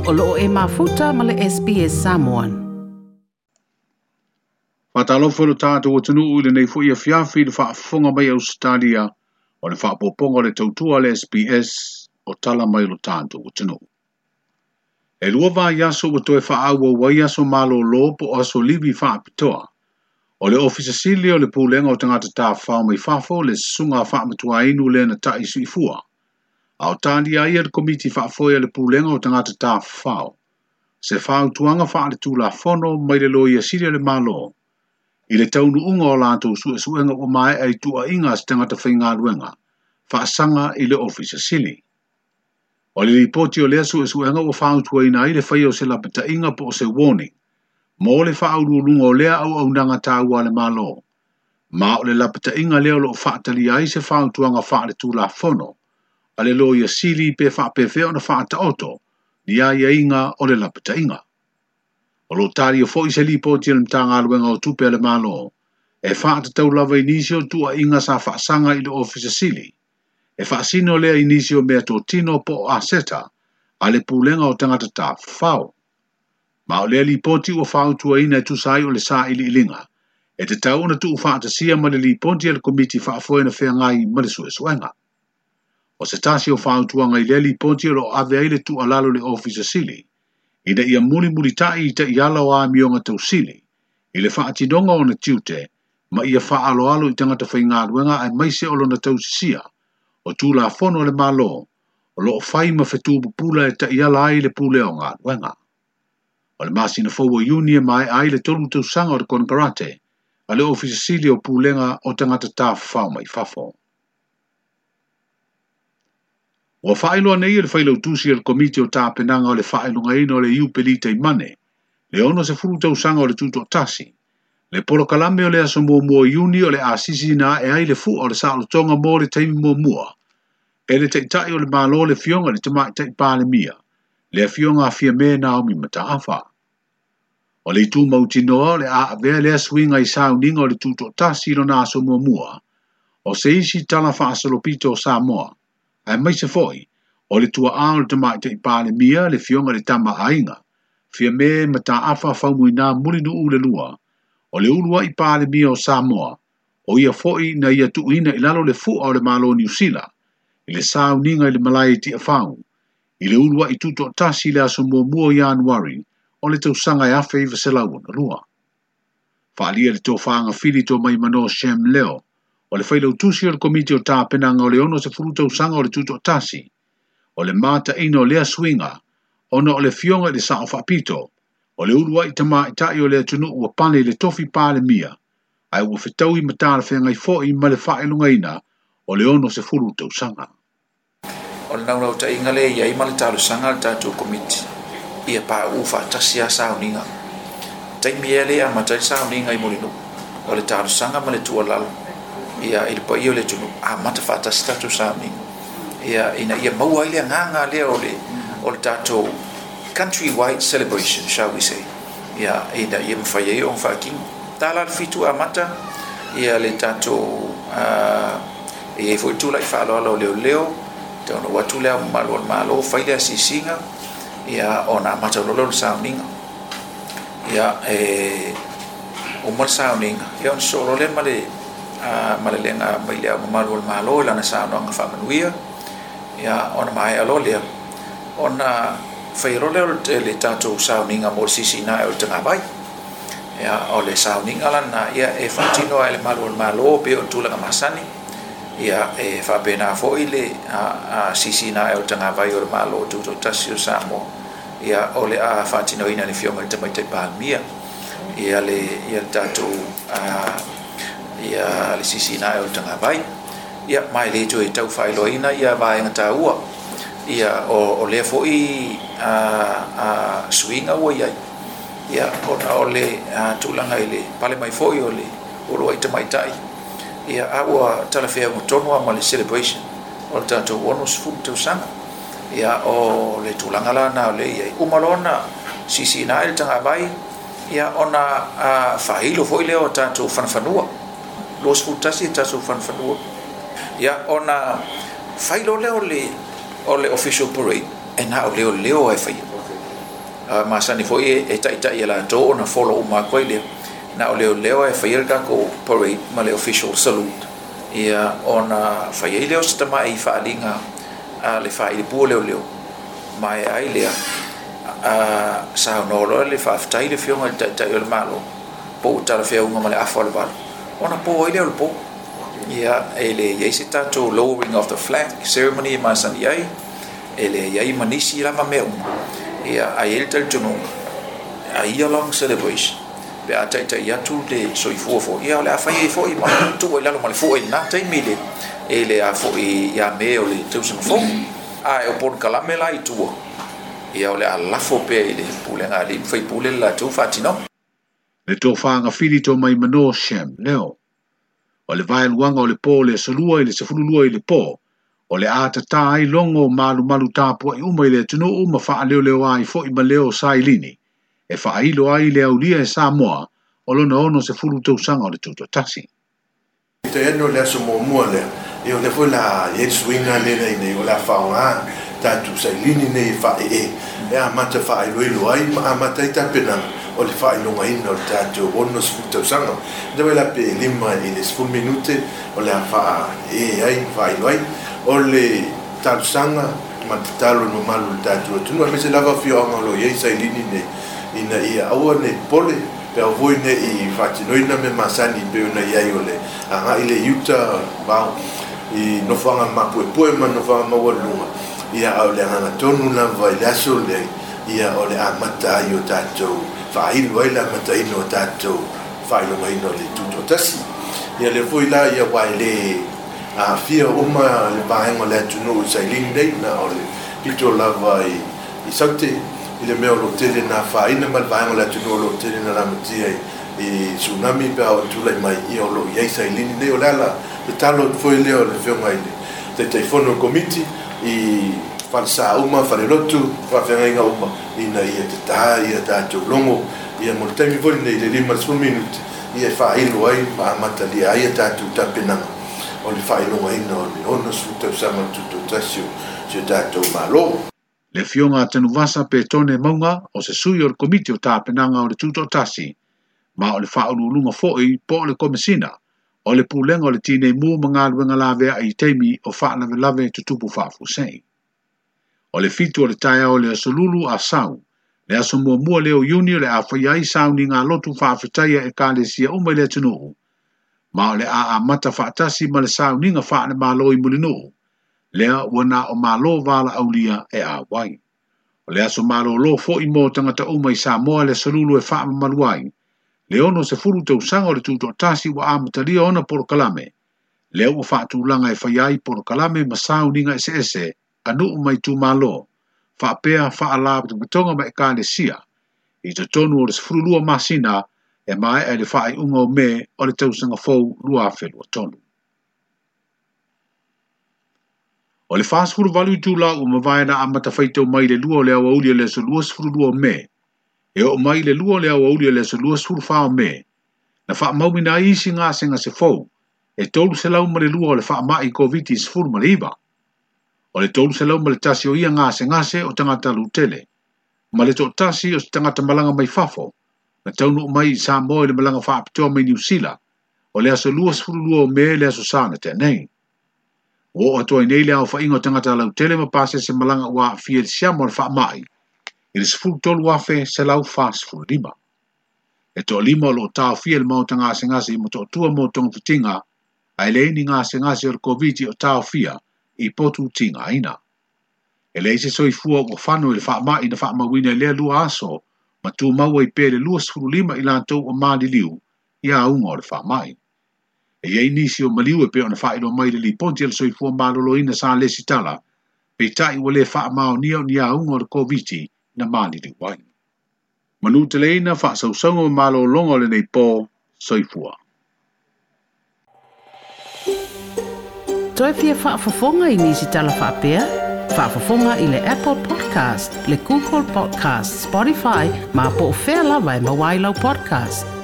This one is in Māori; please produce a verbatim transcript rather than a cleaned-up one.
o loo e mafuta ma le S B S Samoan. Whatalofo lo tātou o tunu ui le nei fo ia fiafi le whaafonga mai Australia o le whaapoponga le tautua le S B S o tala mai lo tātou o tunu. E lua wā yaso o toe whaaua wai aso malo lopo o aso livi whaapitoa. O le ofisa sili o le pūlenga o tangata tā whao mai whafo le sunga whaamatua inu le na tai sui fua. A o tāndi a ia le komiti whaafoia le pūlenga o tangata tā whao. Se whao tuanga wha le tūla whono mai le loia sili le malo. I le taunu unga o lātou sue suenga o mai ai tua inga se tangata whainga luenga. Whaasanga i le ofisa sili. O le ripoti o lea sue suenga o whao tua ina i le whai o se lapita inga po o se warning. Mo le whao lunga o lea au au nanga tāua le malo. Ma o le lapita inga leo lo whaatali ai se whao tuanga wha le tūla whono. A le loia sili pe wha pe feo na wha ta oto. Ni a ia inga o le lapita inga. O lo tari o fo i se ripoti le mtanga aluenga o tupe le malo. E wha ta tau lava inisio tua inga sa wha sanga i le ofisa sili. E wha sino lea inisio mea tō tino po a seta. A le pūlenga o tangata tā whao. Ma o lea ripoti o whao tua ina e tusai o le sa ili ilinga. E te tau na tu wha ta sia ma le ripoti le komiti wha foe na whea ngai ma le sue suenga. O se tasi o whao tua ngai le ripoti lo ave ai le tu alalo le ofisa sili. Ina ia muli muli tai i te iala o a mionga tau sili. I le wha atinonga o na tiute, ma ia wha alo alo i tangata whainga luenga ai maise olo na tau sisia. O tū la whono le malo, o lo whai ma whetu pupula e te iala ai le pule o ngā luenga. O le masina fōua iuni e mai ai le tolu tau sanga o le konkarate, a le ofisa sili o pulenga o tangata tā whao mai whafo. O whaeloa nei le whailau tusi le komiti o tā penanga o le whaelunga ino o le iu pelita i mane, le ono se furu tau sanga o le tuto tasi, le polo kalame o le aso mua mua iuni o le asisi na e ai le fu o le saalo tonga mo le taimi mua mua, e le teitai o le malo le fionga le tamai tei pāle mia, le fionga a fia me na o mi mata afa. O le tu mautinoa le a avea le aswinga i sauninga o le tuto tasi lo na aso mua mua, o se isi tala wha asalopito o Samoa, ai mai se foi, o le tua ao le tamai te pāle mia le fionga le tama ainga, fia me mata afa whaumui nā mulinu u le lua, o le ulua i pāle mia o Samoa, o ia foi na ia tuina i lalo le fu o le malo New Zealand, i le sau ninga i le malai ti a whau, i le ulua i tuto tasi le aso mua mua Januari, o le tausanga e afe i vaselau na lua. Whaalia le tō whaanga whiri tō mai mano Shem Leo, o le whailau tusi o le komiti o tā penanga o le ono se furu tausanga o le tuto tasi, o le mata ino lea swinga, ono o le fionga i le sao whapito, o le urua i tama i tai o le atunu ua pane le tofi pāle mia, ai ua whetau i matara whengai fo i ma le whaelunga ina, o le ono se furu tausanga. O le naurau ta inga le iai ma le talu sanga le tātou komiti, ia pā uwha tasi a sauninga. Taimi e le a matai sauninga i molinu, o le talu sanga ma le tua lalo, ia il pa io le tunu a mata fata statu sami ia ina ia maua ile nganga le o le o le tato countrywide celebration shall we say ia ina ia mfai o mfaking tala fitu a mata ia le tato a e foi tu lai falo lo leo leo tono watu le malo malo fai le sisinga ia ona mata lo lo sounding ia e o mal sounding ia on solo le male a malelenga mai le malo malo la na sa no fa manuia ya ona mai alo le ona fai ro le le tato sounding a mo sisina o tanga vai ya o le sounding ala na ia e fatino ele malo malo pe o tula ka masani ia e fa pena fo ile a sisina o tanga vai o malo tu to tasio samo ia o le a fatino ina le fioma te mai te palmia ia le ia tato a ia le sisina o tanga vai ia mai le jo e tau failoina ia vai ngata ua ia o o le fo i a a swinga o ia ia o na o le tulanga ile pale mai fo i o le o lo ite mai tai ia awa talafea mo tono ma le celebration o tato onus fu tu sana ia o le tulanga la na le ia umalona sisina ile tanga vai ia ona a failo fo ile o tato fanfanua los futasi tasu fanfanua ya ona failo leo le o le official parade e na o leo leo e fai ma sani foi e tai tai la to na follow ma ko ile na ole leo e fair ka ko parade ma le official salute ia ona faia leo sta mai fa linga a le fa ile pu leo leo mai ai le a sa no lo le fa tai le fiona tai tai le malo po ta le fiona ma le afol ba ona po ile le po ia ele ye se tato lowering of the flag ceremony ma san ia ele ia manisi la ma me ia ai el tel tunu ai long celebration be ata ita ia tu de so i fo fo ia le afa i fo i ma tu ia lo ma le fo i na te mi le ele a fo i ia me o le tu so fo ai o por kala me la i tu ia le ala fo pe ile pule nga li fai pule la tu fatino le to fanga fili to mai mano shem leo o le vai luanga o le po le solua i le sefululua i le po o le ata tai longo malu malu tapu i uma i le tunu uma faa leo leo ai fo i ma leo sailini e faa ilo ai le aulia e Samoa o lona ono se fulu tausanga o le tuto tasi. Te eno le aso mo mua le, e o le fo la e swinga le le ne o la faunga tatu sailini ne faa e e a mata faa ilo ilo ai a mata i tapena o le faa ilo ngai no tatu ono se fulu tausanga dewe la pe lima i le sful minute o le a faa e ai faa ilo ai o le tausanga matatalo no malu tatu tunu a mese lava fio anga lo ye sailini ne ina ia aua ne pole pe o voi ne i fatinoina me masani pe ona ia iole anga ile yuta ba i no fanga mapu e poe ma no fanga ma walunga ia au le anga tonu na vai laso le ia ole amata io tato fa il vai la mata ino tato fa ilo mai no le tuto tasi ia le foi la ia vai le a fia uma le baenga le tunu sailing dei na ole pito lava i i sakte ile meo lo tele na fa ina mal baenga le tunu lo tele na ramatia i tsunami pe au tula mai i o lo ia sailing dei o la le talo foi leo le feo mai te telefono committee i falsa uma falelotu fa venga uma ina ia te ta ia ta longo ia mo temi foi nei le lima su minuti ia fa ilo ai ma matali ia ta tu tapena o le fa ilo ai no ono su te sama tutto tasio se ta to malo le fionga tenu vasa pe tone maunga o se sui o le komiti o tapenanga o le tuto tasi ma o le fa ulunga foi po le komisina o le pulenga o le tine mu manga luenga lave ai temi o fa lave lave tutupu fa fusei o le fitu o le taia o le asolulu a sau le aso mua mua leo yuni o le a whaiai sau ni ngā lotu whaafetaia e ka le sia umai le tunuhu ma o le a a mata whaatasi ma le sau ni ngā whaane malo i mulinuhu lea wana o malo vala aulia e a wai o le aso malo lo fo i mo tangata umai sa moa le asolulu e whaama maluai le ono se furu tau sanga o le tuto tasi wa amatalia ona poro kalame leo o whaatu langa e whaiai poro kalame ma sau ni ngā ese ese anu mai tu malo fa pea fa ala tu betonga mai ka le sia i te tonu o le frulua masina e mai e le fa i unga o me o le tausanga fou lua felu o tonu o le fast food value tu la o mavaina a mata faitau mai le lua o le awa uli le so lua frulua me e o mai le lua o le awa uli le so lua frulua me na fa maumina isi ngā senga se fou e tolu se lau ma le lua o le fa mai covid is full ma le iba o le tolu se lau ma le tasi o ia ngase ngase o tangata lutele. Ma le to tasi o tangata malanga mai fafo, na taunu mai i Samoa i le malanga whaapitoa mai New Zealand, o le aso lua sifuru lua o me le aso sanga te nei. O atoa i nei le au whainga o tangata lautele ma pase se malanga ua fia le siamo le wha mai, i le sifuru tolu wafe se lau wha sifuru lima. E to lima o lo tau fia le mauta ngase ngase i mo to tua mo tonga fitinga, ai le ini ngase ngase o le COVID o tau fia, i potu tinga aina. E le se soi fua o whanu i le wha i na wha mawina lea lua aso, ma tu maua i pere lua sifuru lima i lantou o maali liu, i a unga o le wha mai. E iei nisi o maliu e pe o na wha ilo mai le li ponti al soi fua malolo ina sa lesi tala, pe tai o le wha mao nia o ni a unga o le COVID na maali liu wai. Manu te leina wha sausango o malolo longa le nei po soi fua. Toi fia whaafafonga i nisi tala whaapea? Whaafafonga i le Apple Podcast, le Google Podcast, Spotify, ma po o whea lawa e mawailau podcast.